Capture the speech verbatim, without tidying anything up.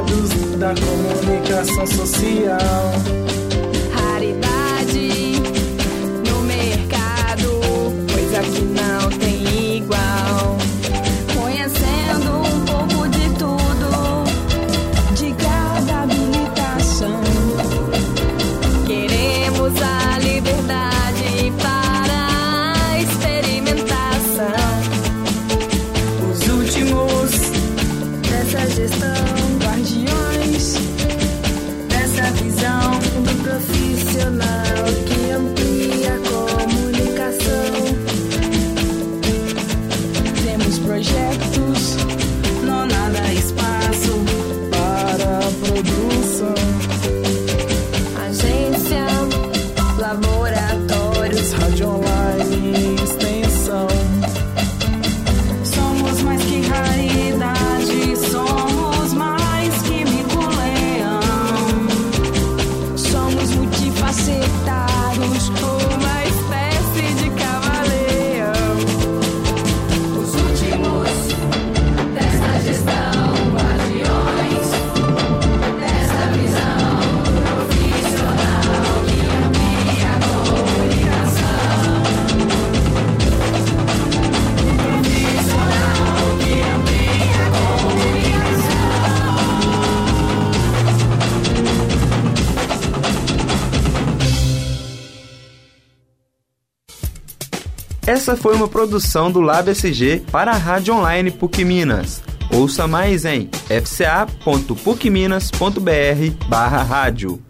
segredos da comunicação social. Raridade no mercado, coisa que não tem igual. Conhecendo um pouco de tudo, de cada habilitação. Queremos a liberdade para a experimentação. Os últimos Dessa gestão, guardiões dessa visão do profissional que amplia a comunicação. Temos projetos, não nada espaço para a produção. agência, laboratórios, Rádio online e extensão. Somos mais que raridade, somos mais que mico-leão. somos multifacetados, uma espécie de camaleão. Os últimos desta gestão, guardiões desta visão profissional que amplia a comunicação. Profissional que amplia a comunicação. Essa foi uma produção do Lab S G para a Rádio Online P U C Minas. Ouça mais em f c a ponto puc minas ponto b r barra rádio.